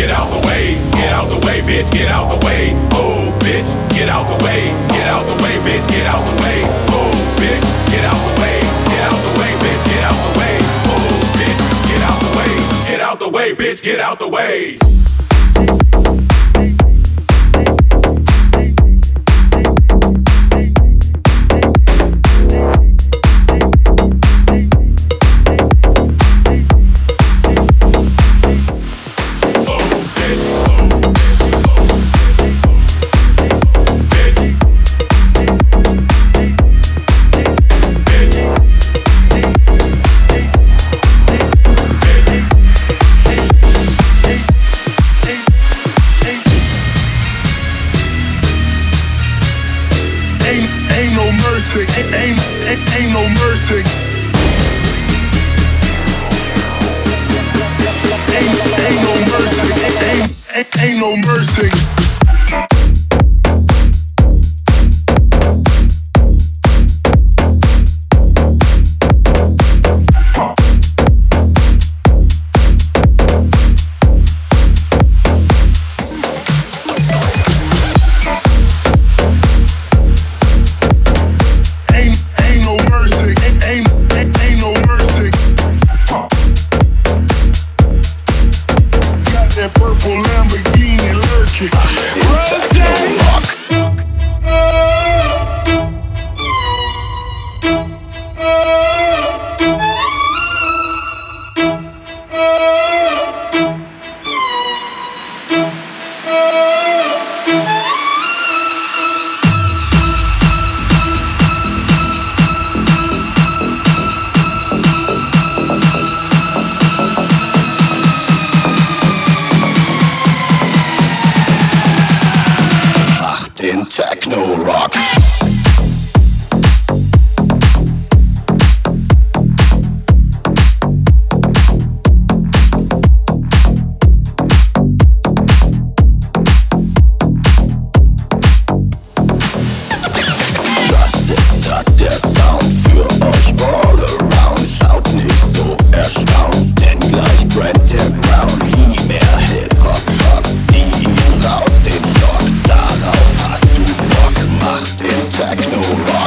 get out the way. Get out the way, bitch, get out the way. Move, bitch, get out the way. Get out the way, bitch, get out the way. Move, bitch, get out the way. Get out the way, bitch, get out the way. Move, bitch, get out the way. Get out the way, bitch, get out the way. Ain't no mercy. Ain't no mercy. Ain't no mercy. Techno rock. Das ist der Sound für euch all around. Schaut nicht so erstaunt, denn gleich brennt der Brown. Nie mehr Hip-Hop, Schock, zieh ihn raus den Stock. Darauf hast du Bock, mach den Techno-Rock.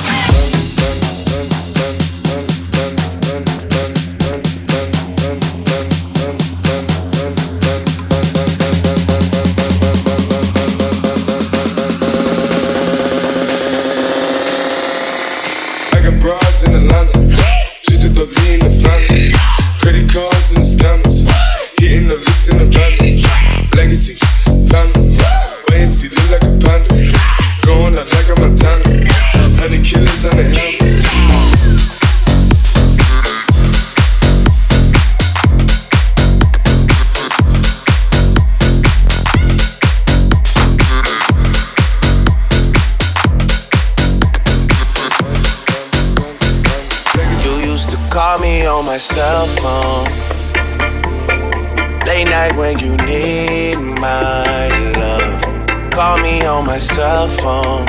I got broads in Atlanta, she's just the lean in the family. Credit cards and the scammers, hitting the licks in the van. Legacy, family, wait and see, look like a panda. Going out like a Montana, honey killers on the helmets. Call me on my cell phone late night when you need my love. Call me on my cell phone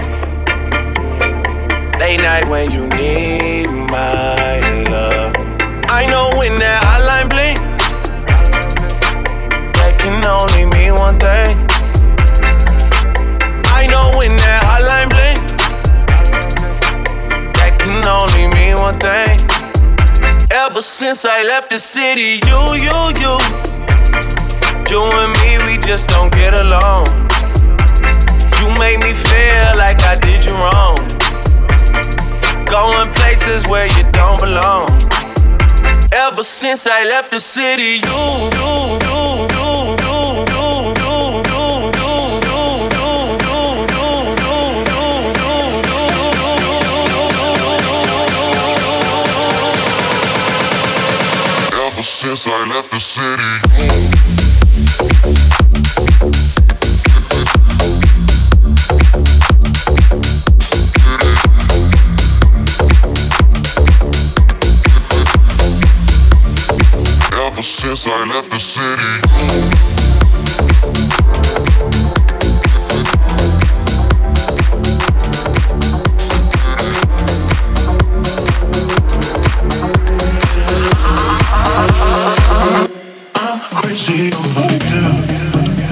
late night when you need my love. I know when that hotline blink, that can only mean one thing. I know when that hotline blink, that can only mean one thing. Ever since I left the city, you and me, we just don't get along. You made me feel like I did you wrong, going places where you don't belong. Ever since I left the city, Since I left the city. Ever since I left the city. Crazy over you.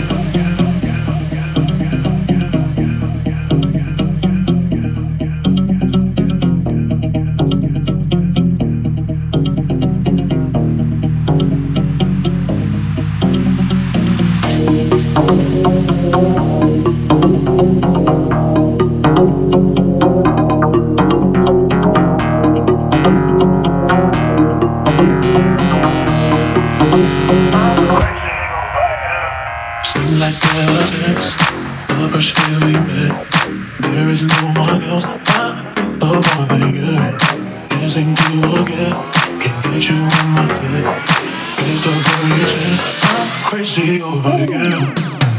Seems like ever since the first day we met, there is no one else I love more than you. Can't seem to forget, can't get you in my head. It's the reason I'm crazy over you.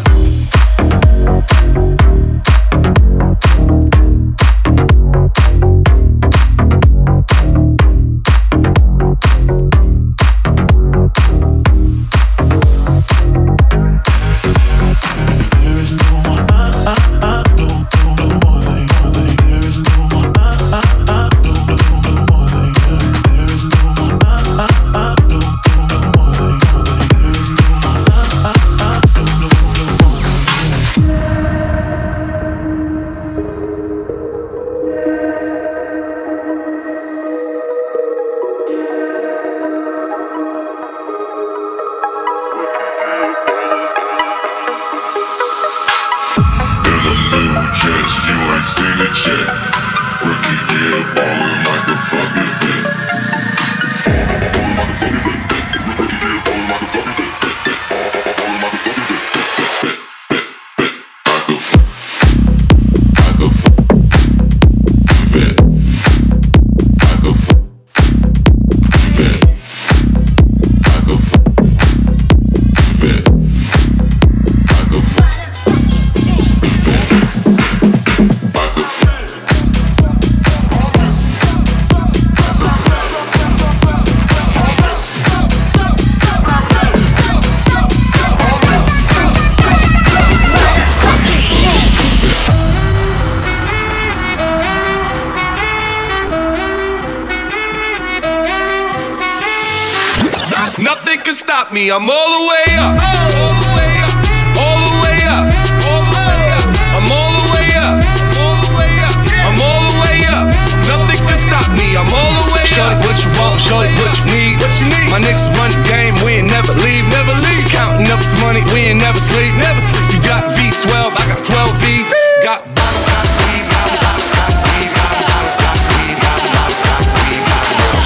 I'm all the way up, all the way up, all the way up, all the way up. I'm all the way up, all the way up, I'm all the way up. Nothing can stop me, I'm all the way up. Show it what you want, show it what you need. My niggas run the game, we ain't never leave, never leave. Counting up some money, we ain't never sleep, never sleep. You got V12, I got 12 V's. Got bottles, got weed, got bottles, got weed, got bottles, got weed, got bottles, got weed, got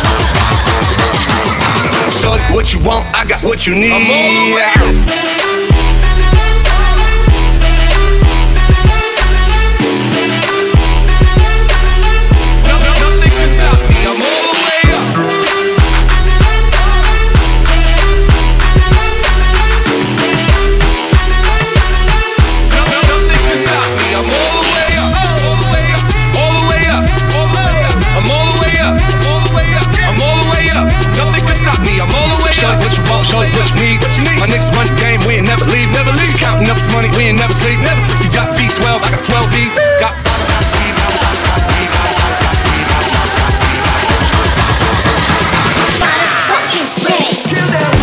bottles. Show it what you want, I got what you need. I'm all the way up. Show it what you need. My niggas run the game, we ain't never leave, never leave. Counting up some money, we ain't never sleep, never sleep. You got V12, I got 12 V's. Got fucking space. Kill them.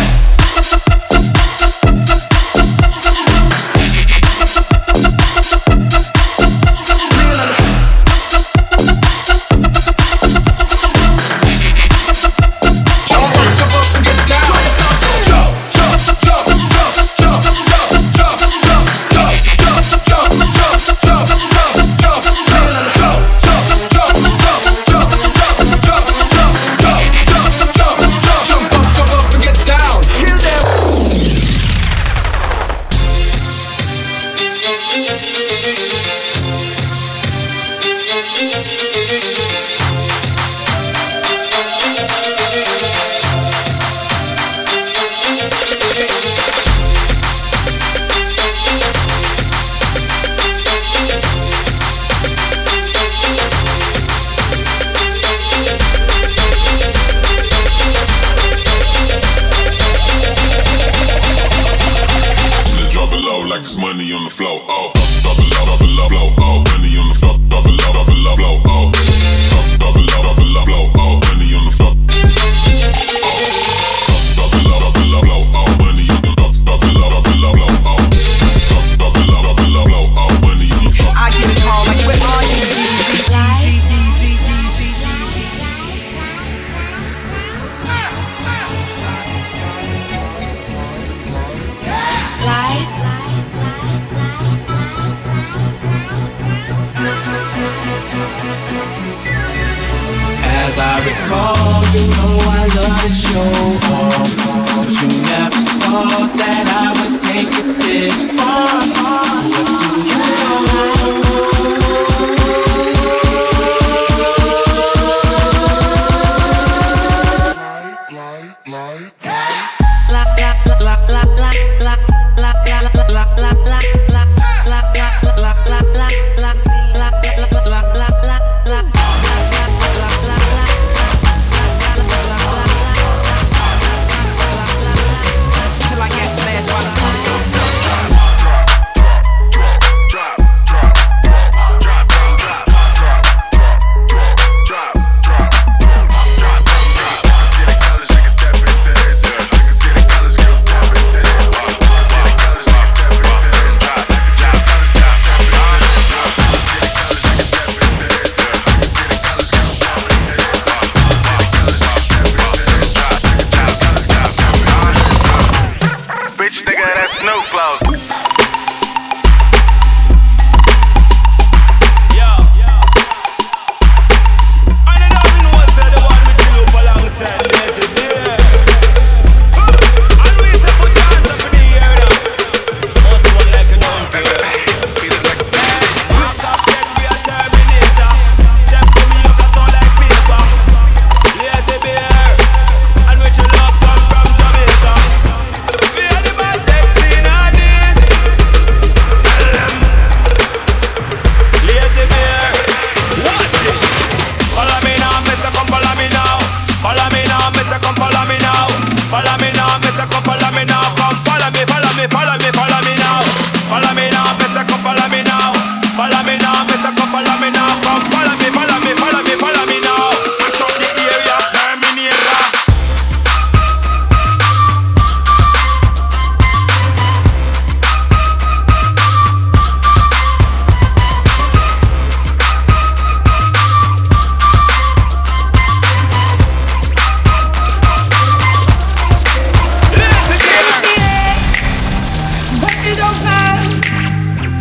As I recall, you know I love try to show off, but you never thought that I would take it this far. What do you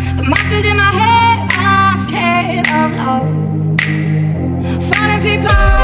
in my head, I'm scared of love. Finding people